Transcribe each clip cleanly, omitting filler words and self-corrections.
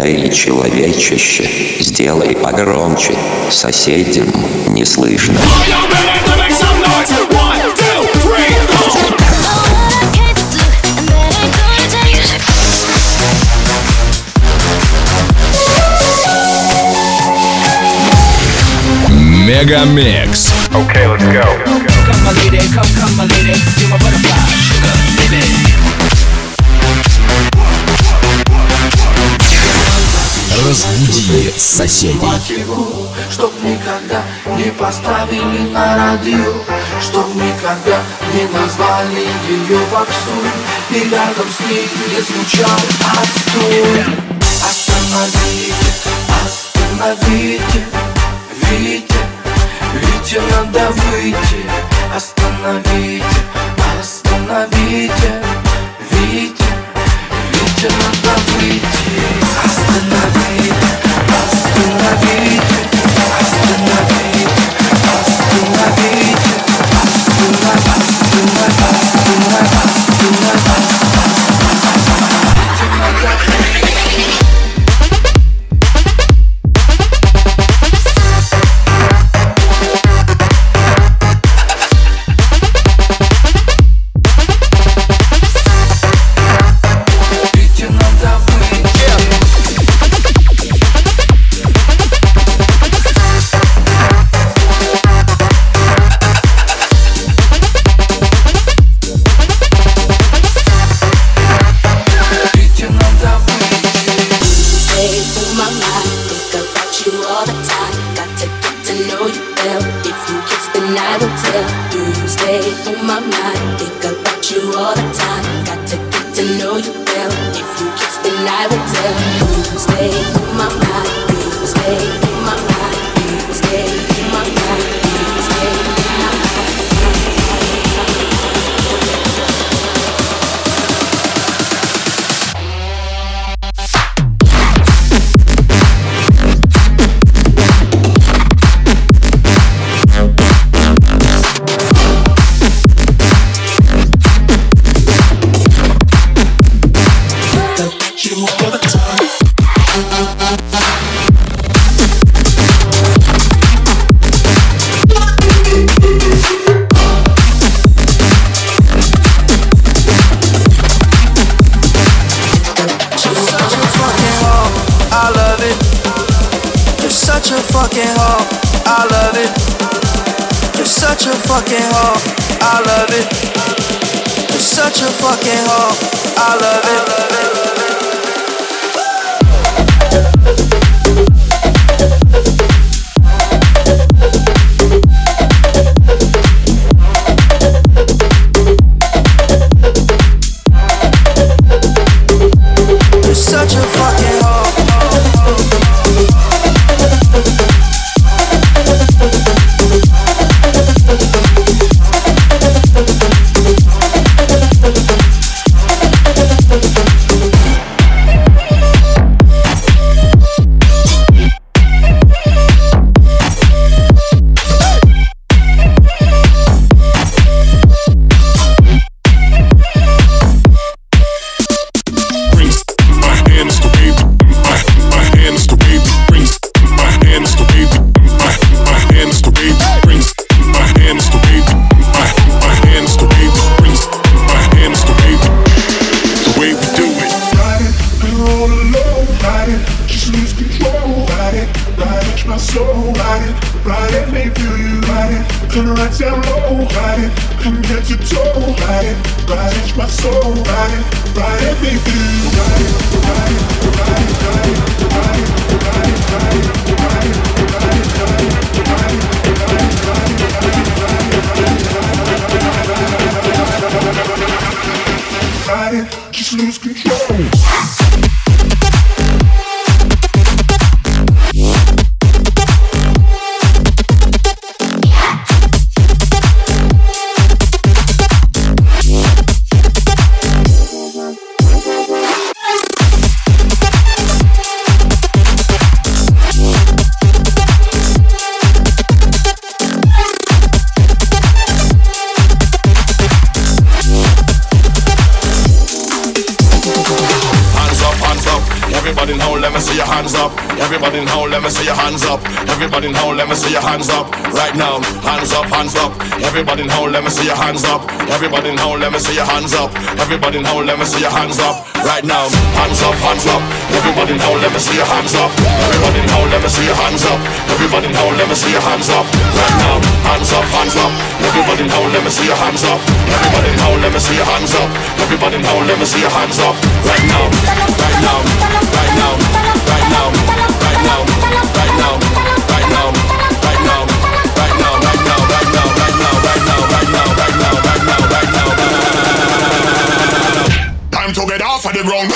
Эй, человечище, сделай погромче, соседям не слышно. Мегамикс. Okay, let's go. Come my lady, come my lady, you're my butterfly, sugar, baby. Разбуди соседей. Чтоб никогда не поставили на радио, чтоб никогда не назвали ее попсой, и рядом с ней не звучал отстой. Остановите, остановите, Витя, Витя, надо выйти. Остановите, остановите, Витя, Витя, надо выйти. Остановите, остановите, остановите, остановите, Just lose control. see your hands up. Everybody now, let me see your hands up. Everybody now, let me see your hands up. Right now, hands up, hands up. Everybody now, let me see your hands up. Everybody now, let me see your hands up. Everybody now, let me see your hands up. Right now, hands up, hands up. Everybody now, let me see your hands up. Everybody now, let me see your hands up. Everybody now, let me see your hands up. Right now, hands up, hands up. Everybody now, let me see your hands up. Everybody now, let me see your hands up. Everybody now, let me see your hands up. Right now, right now, right now, right now, right now, right now, right now, right now, right now, right now, right now, right now, right now, right now, right now, right now, right now, right now. Time to get off of the ground.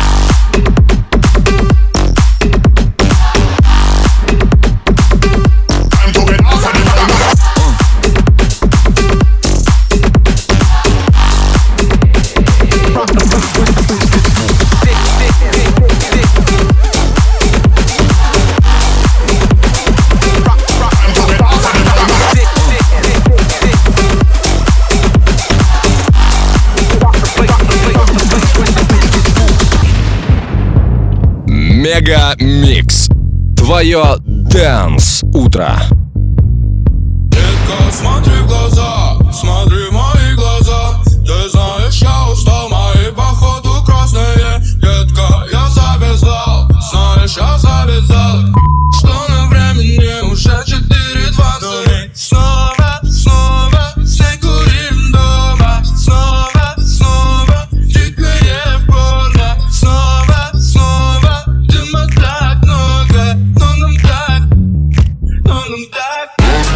Мега Микс. Твое Dance утро. Детка, смотри в глаза, смотри в мои глаза. Ты знаешь, я устал, мои походу красные. Детка, я завязал, знаешь, я завязал. Что на времени уже 4:20. Снова, снова, все курим дома. Снова, снова, дикое порно. Снова, снова, дыма так много. Но нам так, но нам так.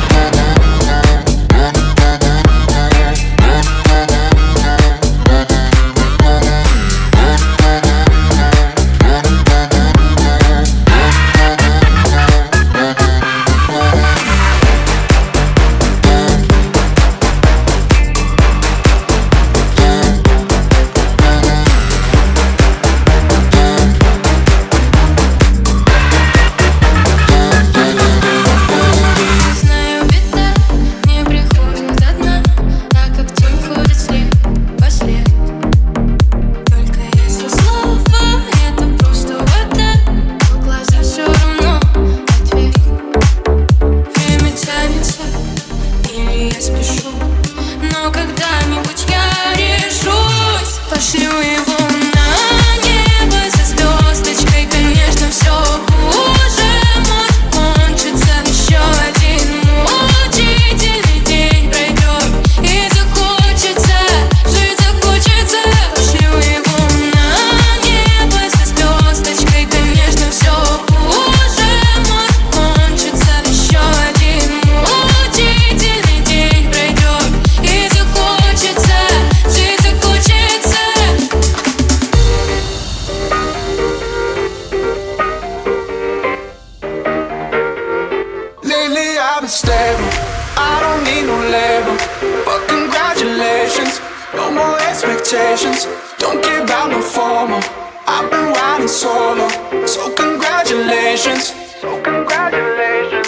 Don't care about no formal. I've been riding solo, so congratulations. So congratulations.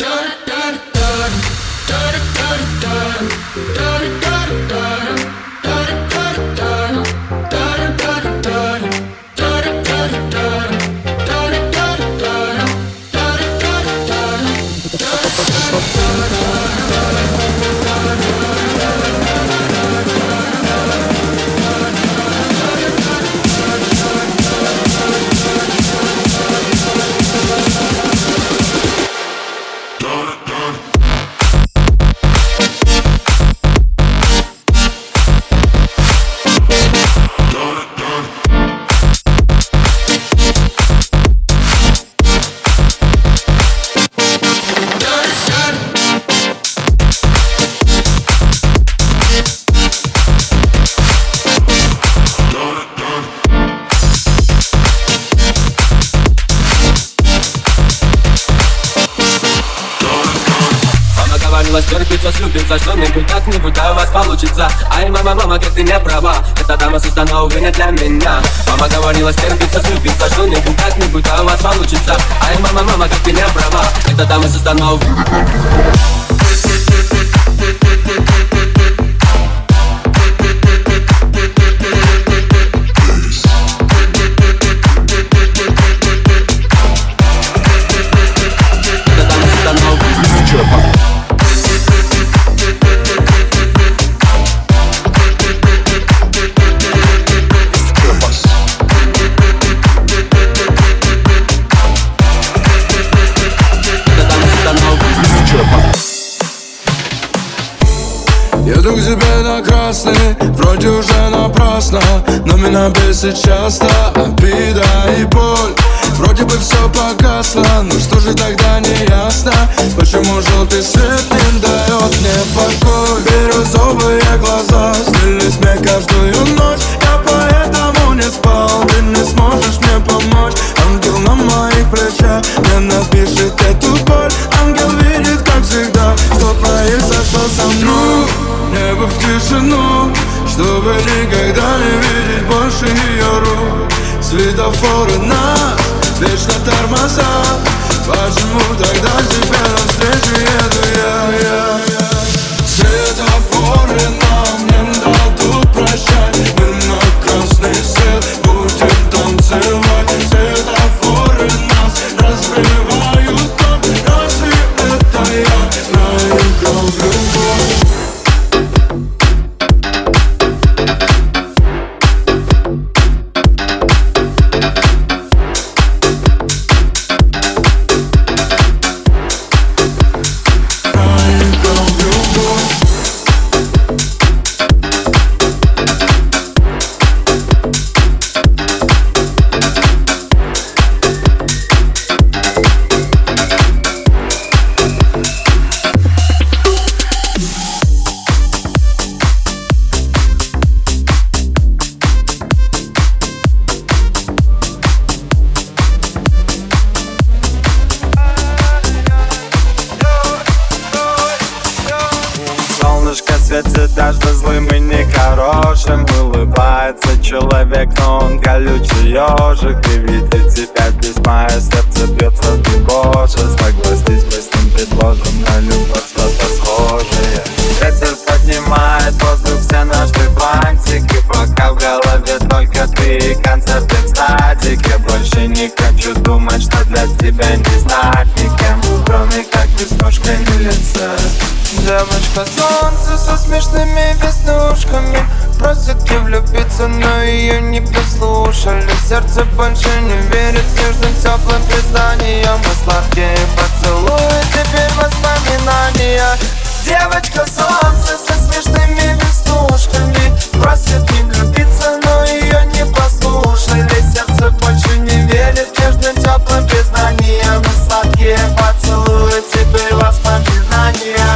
Терпится, слюбится, что-нибудь как-нибудь у вас получится. Ай, мама, мама, как ты не права. Эта дама создана, увы, не для меня. Мама говорила, терпится, слюбится, что-нибудь как-нибудь у вас получится. Ай, мама, мама, как ты не права. Эта дама создана, увы. тебе на красный, вроде уже напрасно, но меня бесит часто обида и боль. Вроде бы все погасло, но что же тогда не ясно? Почему желтый свет не дает мне покой? Бирюзовые глаза снились мне каждую ночь. Я поэтому не спал, ты не сможешь мне помочь. Ангел на моих плечах мне напишет эту боль. Ангел видит, как всегда, что произошло со мной. Небо в тишину, чтобы никогда не видеть больше ее рук. Светофоры нас вечно тормозят. Почему тогда тебе навстречу еду я? Светофоры нам не дадут прощать. Мы на красный свет будем танцевать. Светофоры нас разбивают так. Разве это я проиграл в любовь? Светит даже злым и нехорошим. Улыбается человек, но он колючий ежик. И видит тебя здесь, мое сердце бьется тревоже. Согласись, мы с ним предложим на любовь что-то схожее. Ветер поднимает в воздух все наши бантики. Пока в голове только ты и концерты в статике. Больше не хочу думать, что для тебя не знать никем, кроме как веснушкой на лице. Девочка солнце со смешными веснушками просит и влюбиться, но ее не послушали. Сердце больше не верит нежным теплым признаниям. И сладкие поцелуи, теперь воспоминания. Девочка солнце со смешными веснушками просит не влюбиться, но ее не послушали. Сердце больше не верит нежным теплым признаниям. И сладкие поцелуи, теперь воспоминания.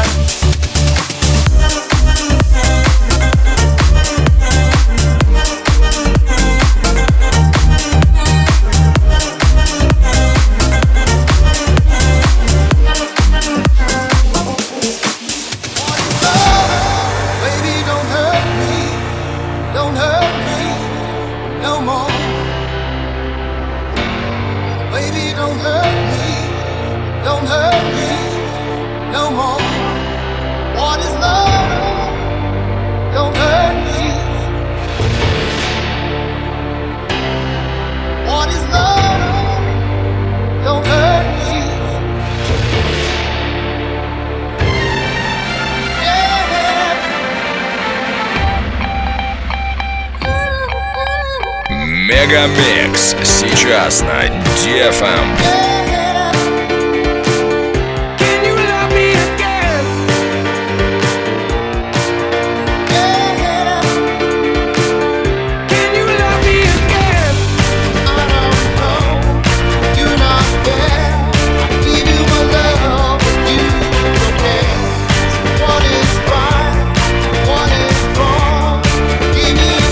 Мегамикс сейчас на DFM.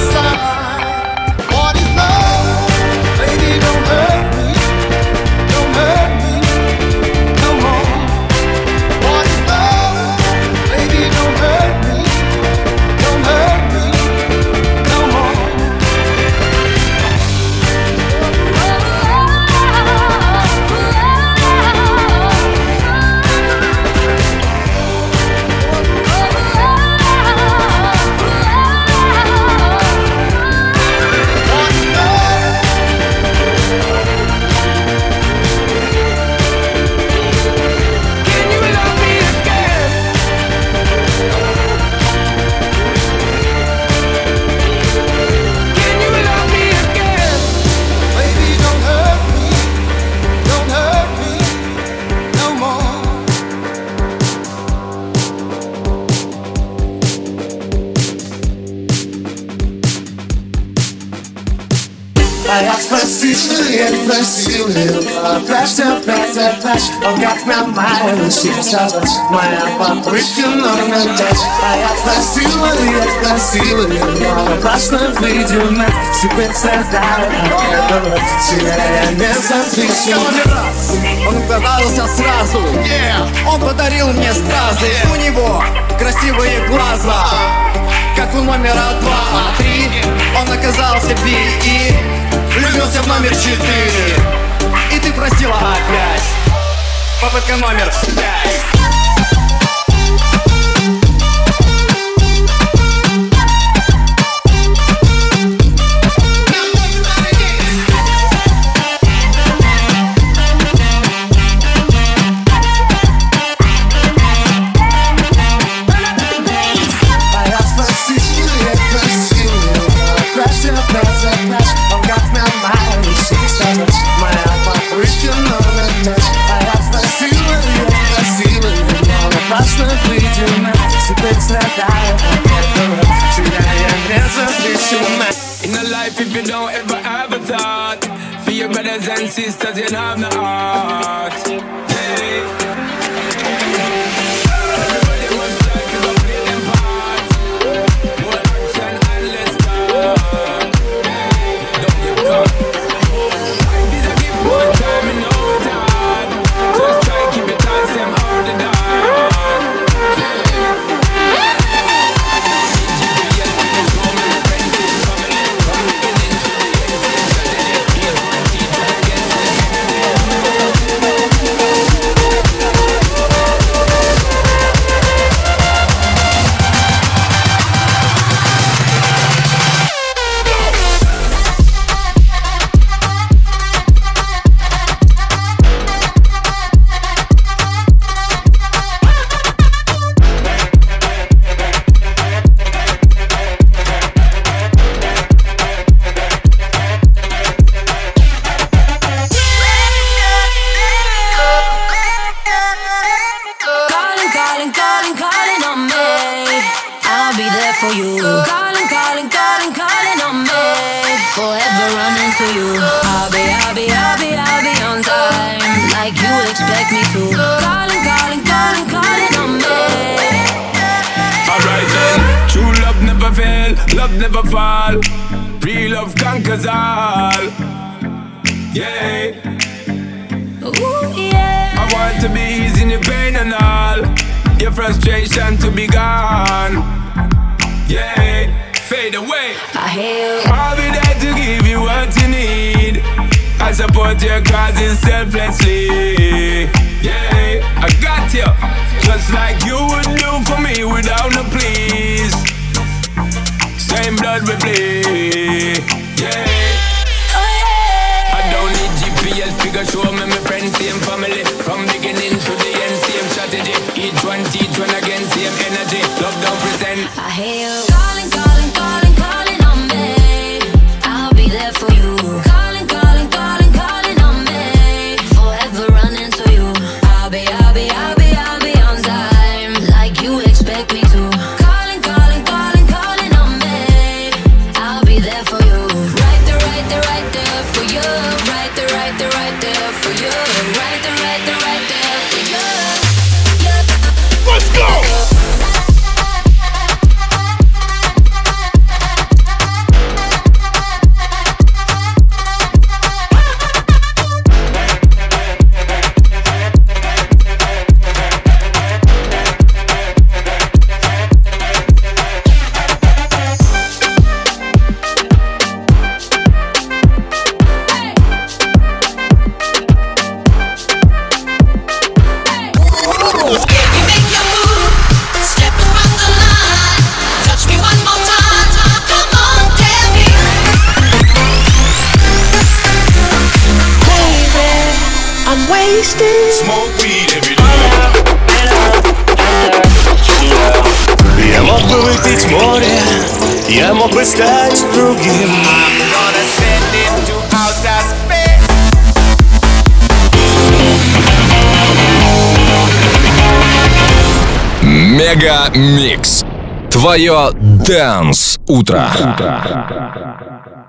Don't красивые, красивые. Плачь, он как на моей лучице. Моя попытка номер 5. А я красивые, красивые. Классно выйдем, себе создаю. Тебя я не запишу. Он угадался сразу. Он подарил мне стразы. У него красивые глаза, как у номера 2, а 3 он оказался би и влюбился в номер 4. И ты просила опять. Попытка номер 5. In a life, if you don't ever have a thought for your brothers and sisters, you have no heart. Hey. Everybody must try to play them part. More action and less talk. Hey. Don't get caught. Life is a gift, one time and no return. Just try keep it tight, them all the dark. Love never fall, real love conquers all. Yeah. Ooh, yeah. I want to be easing your pain and all, your frustration to be gone. Yeah, fade away. I'll be there to give you what you need. I support your causes selflessly. Yeah, I got you, just like you would do for me without no please. Same blood we bleed, yeah. I don't need GPS figure show me my friends, same family. From beginning to the end, same strategy. Each one teach one again, same energy. Love don't pretend. I hear you calling, calling, calling, calling on me. I'll be there for you. Calling, calling, calling, calling on me. Forever running to you. I'll be on time, like you expect me to. Calling, calling, calling, calling on me. I'll be there for you. Right there, right there, right there for you. Right there, right there, right there for you. Right there, right there, right there for you. Yeah. Let's go! Smoke weed every day. Я мог бы выпить море, я мог бы стать другим. Мега Микс. Твое Dance утро.